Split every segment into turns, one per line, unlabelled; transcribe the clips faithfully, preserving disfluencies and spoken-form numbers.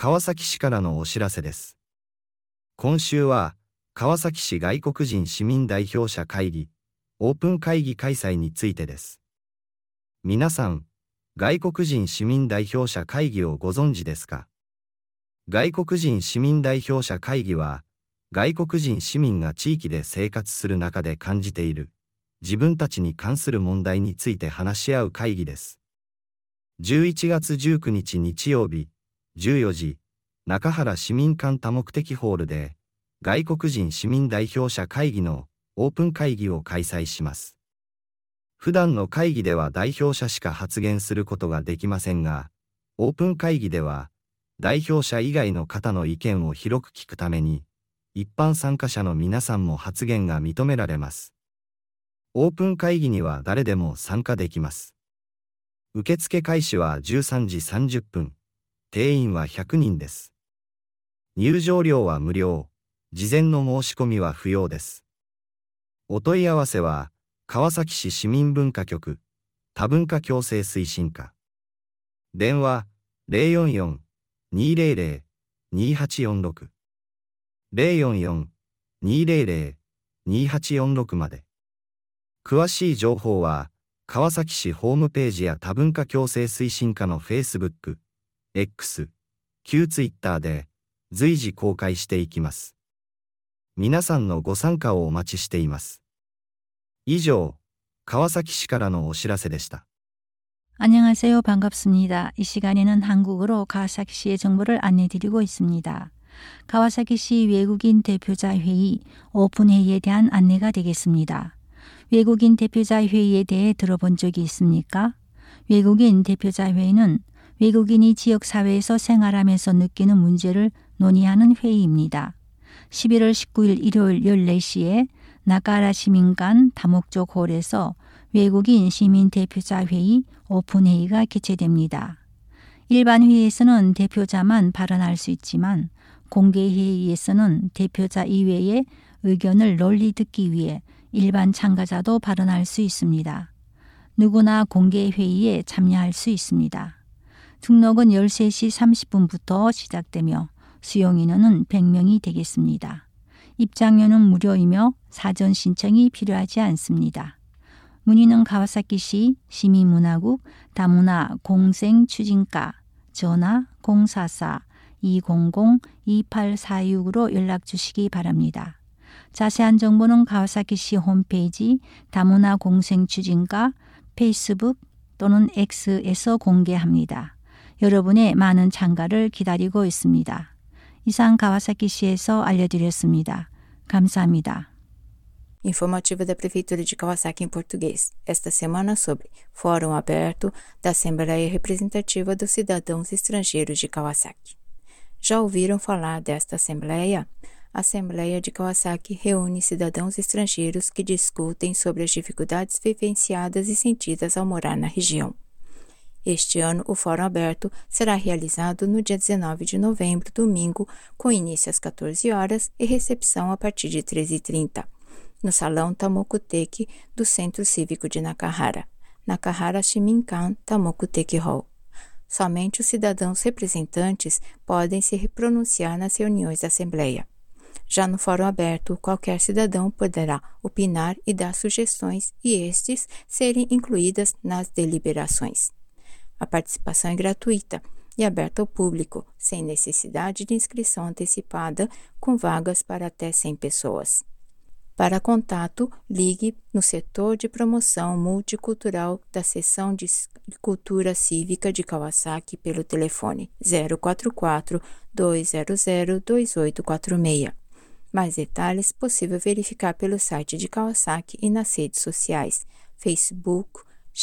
川崎市からのお知らせです。今週は、川崎市外国人市民代表者会議、オープン会議開催についてです。皆さん、外国人市民代表者会議をご存知ですか？外国人市民代表者会議は、外国人市民が地域で生活する中で感じている、自分たちに関する問題について話し合う会議です。じゅういちがつじゅうくにち日曜日、じゅうよじ、中原市民館多目的ホールで、外国人市民代表者会議のオープン会議を開催します。普段の会議では代表者しか発言することができませんが、オープン会議では、代表者以外の方の意見を広く聞くために、一般参加者の皆さんも発言が認められます。オープン会議には誰でも参加できます。受付開始はじゅうさんじさんじゅっぷん、定員はひゃくにんです。入場料は無料、事前の申し込みは不要です。お問い合わせは、川崎市市民文化局、多文化共生推進課。電話、ゼロよんよん にーゼロゼロ にーはちよんろく。ゼロよんよん にーゼロゼロ にーはちよんろくまで。詳しい情報は、川崎市ホームページや多文化共生推進課の Facebook、X、旧 Twitter で随時公開していきます。皆さんのご参加をお待ちしています。以上、川崎市からのお知らせでした。
안녕하세요. 반갑습니다. 이 시간에는 한국어로 가와사키시의 정보를 안내드리고 있습니다. 가와사키시 외국인 대표자 회의 오픈회의에 대한 안내가 되겠습니다. 외국인 대표자 회의에 대해 들어본 적이 있습니까? 외국인 대표자 회의는 외국인이 지역사회에서 생활하면서 느끼는 문제를 논의하는 회의입니다. 십일월 십구일 일요일 열네 시에 나카하라 시민관 다목적 홀에서 외국인 시민 대표자 회의 오픈회의가 개최됩니다. 일반 회의에서는 대표자만 발언할 수 있지만 공개 회의에서는 대표자 이외의 의견을 널리 듣기 위해 일반 참가자도 발언할 수 있습니다. 누구나 공개 회의에 참여할 수 있습니다. 등록은 열세 시 삼십 분부터 시작되며 수용 인원은 백 명이 되겠습니다. 입장료는 무료이며 사전 신청이 필요하지 않습니다. 문의는 가와사키시 시민문화국 다문화 공생추진과 전화 공사사 이공공 이팔사육으로 연락 주시기 바랍니다. 자세한 정보는 가와사키시 홈페이지 다문화 공생추진과 페이스북 또는 X에서 공개합니다. 여러분의 많은 참가를 기다리고 있습니다. 이상 가와사키시에서 알려드렸습니다. 감사합니다.
Informativo da Prefeitura de Kawasaki em português. Esta semana sobre Fórum Aberto da Assembleia Representativa dos Cidadãos Estrangeiros de Kawasaki. Já ouviram falar desta Assembleia? A Assembleia de Kawasaki reúne cidadãos estrangeiros que discutem sobre as dificuldades vivenciadas e sentidas ao morar na região. Este ano, o Fórum Aberto será realizado no dia dezenove de novembro, domingo, com início às quatorze horas e recepção a partir de treze e trinta, no Salão Tamokuteki do Centro Cívico de Nakahara, Nakahara Shiminkan Tamokuteki Hall. Somente os cidadãos representantes podem se pronunciar nas reuniões da Assembleia. Já no Fórum Aberto, qualquer cidadão poderá opinar e dar sugestões e estes serem incluídas nas deliberações. A participação é gratuita e aberta ao público, sem necessidade de inscrição antecipada, com vagas para até cem pessoas. Para contato, ligue no setor de promoção multicultural da Seção de Cultura Cívica de Kawasaki pelo telefone zero quatro quatro, dois zero zero, dois oito quatro seis. Mais detalhes possível verificar pelo site de Kawasaki e nas redes sociais, Facebook,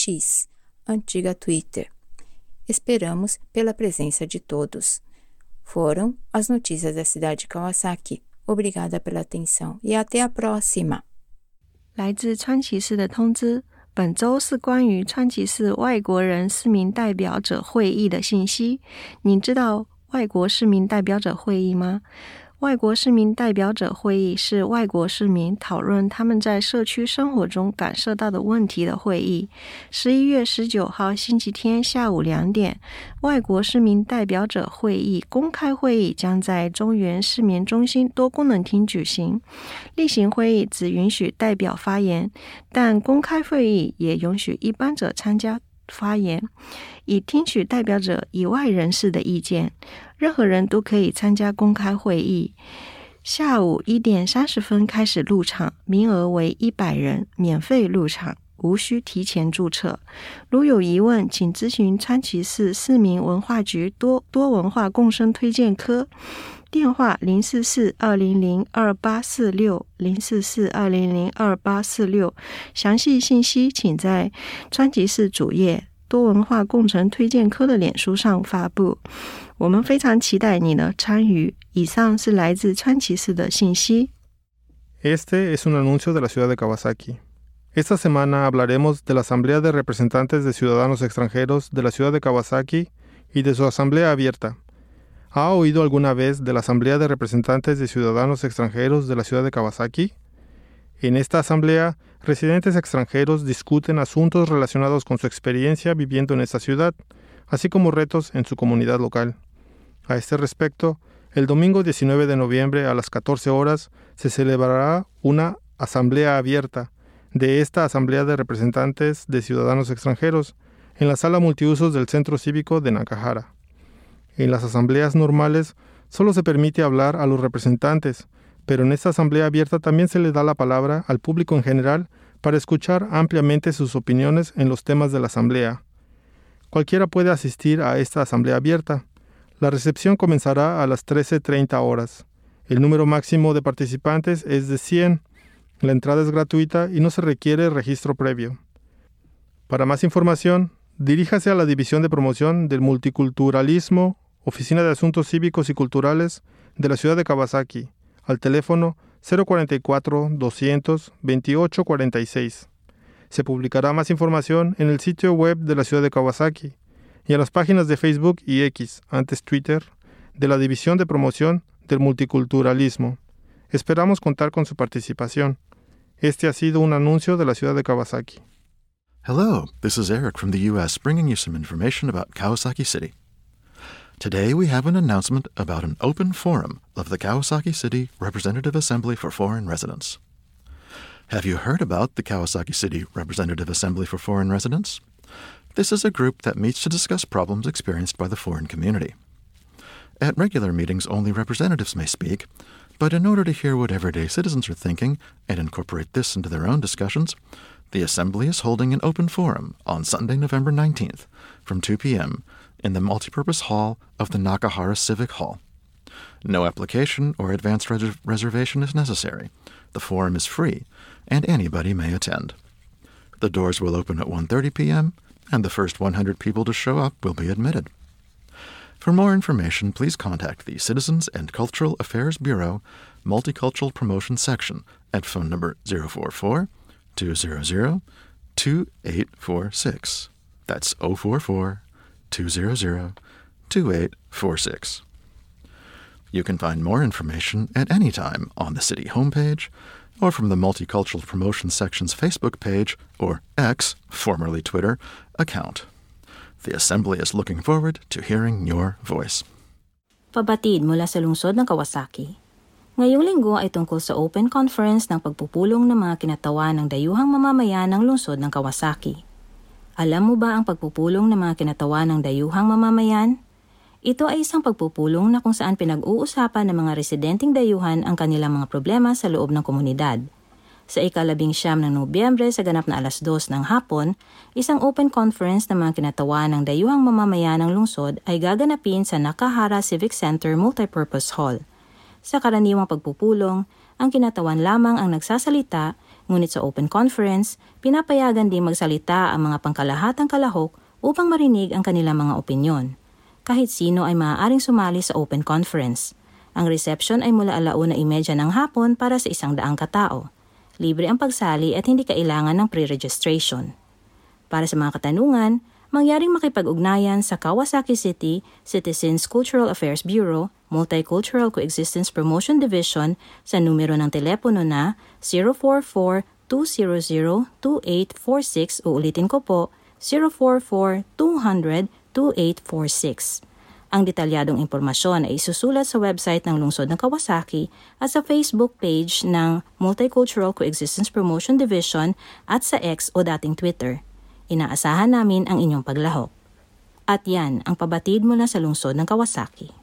X, antiga Twitter. Esperamos pela presença de todos. Foram as notícias da cidade de Kawasaki. Obrigada pela atenção e até a próxima.
来自川崎市的通知，本周是关于川崎市外国人市民代表者会议的信息。你知道外国市民代表者会议吗？ 外国市民代表者会议是外国市民讨论他们在社区生活中感受到的问题的会议。十一月十九号星期天下午两点，外国市民代表者会议公开会议将在中原市民中心多功能厅举行。例行会议只允许代表发言，但公开会议也允许一般者参加发言，以听取代表者以外人士的意见。任何人都可以参加公开会议。下午一点三十分开始入场，名额为一百人，免费入场，无需提前注册。如有疑问，请咨询川崎市市民文化局多多文化共生推荐科，电话零四四二零零二八四六 零四四二零零二八四六。详细信息请在川崎市主页多文化共成推荐科的脸书上发布。我们非常期待你的参与。以上是来自川崎市的信息。
Este es un anuncio de la ciudad de Kawasaki. Esta semana hablaremos de la Asamblea de Representantes de Ciudadanos Extranjeros de la ciudad de Kawasaki y de su asamblea abierta. ¿Ha oído alguna vez de la Asamblea de Representantes de Ciudadanos Extranjeros de la ciudad de Kawasaki? En esta asamblea, residentes extranjeros discuten asuntos relacionados con su experiencia viviendo en esta ciudad, así como retos en su comunidad local. A este respecto, el domingo diecinueve de noviembre a las catorce horas se celebrará una asamblea abierta de esta Asamblea de Representantes de Ciudadanos Extranjeros en la sala multiusos del Centro Cívico de Nakahara. En las asambleas normales solo se permite hablar a los representantes, pero en esta asamblea abierta también se le da la palabra al público en general para escuchar ampliamente sus opiniones en los temas de la asamblea. Cualquiera puede asistir a esta asamblea abierta. La recepción comenzará a las trece treinta horas. El número máximo de participantes es de cien. La entrada es gratuita y no se requiere registro previo. Para más información, diríjase a la División de Promoción del Multiculturalismo, Oficina de Asuntos Cívicos y Culturales de la ciudad de Kawasaki, al teléfono cero cuarenta y cuatro, doscientos, veintiocho cuarenta y seis. Se publicará más información en el sitio web de la ciudad de Kawasaki y en las páginas de Facebook y X, antes Twitter, de la División de Promoción del Multiculturalismo. Esperamos contar con su participación. Este ha sido un anuncio de la ciudad de Kawasaki.
Hello, this is Eric from the U S bringing you some information about Kawasaki City. Today we have an announcement about an open forum of the Kawasaki City Representative Assembly for Foreign Residents. Have you heard about the Kawasaki City Representative Assembly for Foreign Residents? This is a group that meets to discuss problems experienced by the foreign community. At regular meetings, only representatives may speak, but in order to hear what everyday citizens are thinking and incorporate this into their own discussions, the Assembly is holding an open forum on Sunday, November nineteenth from two p.m. in the multipurpose hall of the Nakahara Civic Hall. No application or advance res- reservation is necessary. The forum is free, and anybody may attend. The doors will open at one thirty p.m., and the first one hundred people to show up will be admitted. For more information, please contact the Citizens and Cultural Affairs Bureau Multicultural Promotion Section at phone number zero four four, two hundred, two eight four six. That's zero four four, two hundred, two eight four six. You can find more information at any time on the city homepage or from the Multicultural Promotion Section's Facebook page or X, formerly Twitter, account. The Assembly is looking forward to hearing your voice.
Pabatid mula sa lungsod ng Kawasaki. Ngayong linggo ay tungkol sa Open Conference ng pagpupulong ng mga kinatawan ng dayuhang mamamayan ng lungsod ng Kawasaki. Alam mo ba ang pagpupulong ng mga kinatawan ng dayuhang mamamayan? Ito ay isang pagpupulong na kung saan pinag-uusapan ng mga residenteng dayuhan ang kanilang mga problema sa loob ng komunidad. Sa ikalabing siyam ng Nobyembre sa ganap na alas dos ng hapon, isang open conference ng mga kinatawan ng dayuhang mamamayan ng lungsod ay gaganapin sa Nakahara Civic Center Multipurpose Hall. Sa karaniwang pagpupulong, ang kinatawan lamang ang nagsasalita, ngunit sa open conference, pinapayagan din magsalita ang mga pangkalahatang kalahok upang marinig ang kanilang mga opinyon. Kahit sino ay maaaring sumali sa open conference. Ang reception ay mula alauna imedya ng hapon para sa isang daang katao. Libre ang pagsali at hindi kailangan ng pre-registration. Para sa mga katanungan, mangyaring makipag-ugnayan sa Kawasaki City Citizens Cultural Affairs Bureau Multicultural Coexistence Promotion Division sa numero ng telepono na zero four four, two zero zero, two eight four six o ulitin ko po zero four four, two zero zero, two eight four six. Ang detalyadong impormasyon ay isusulat sa website ng Lungsod ng Kawasaki at sa Facebook page ng Multicultural Coexistence Promotion Division at sa X o dating Twitter. Inaasahan namin ang inyong paglahok. At yan ang pabatid mula sa Lungsod ng Kawasaki.